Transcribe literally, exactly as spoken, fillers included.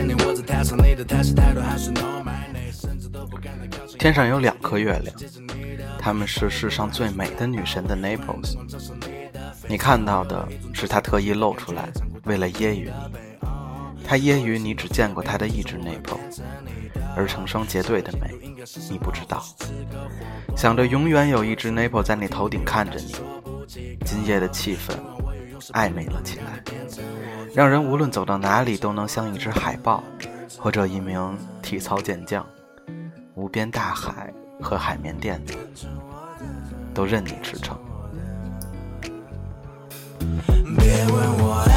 天上有两颗月亮，她们是世上最美的女神的 Naples。 你看到的是她特意露出来，为了揶揄你。她揶揄你只见过她的一只 Naples， 而成双结对的美你不知道。想着永远有一只 Naples 在你头顶看着你，今夜的气氛暧昧了起来，让人无论走到哪里都能像一只海豹或者一名体操健将。无边大海和海绵垫子都任你驰骋。别问我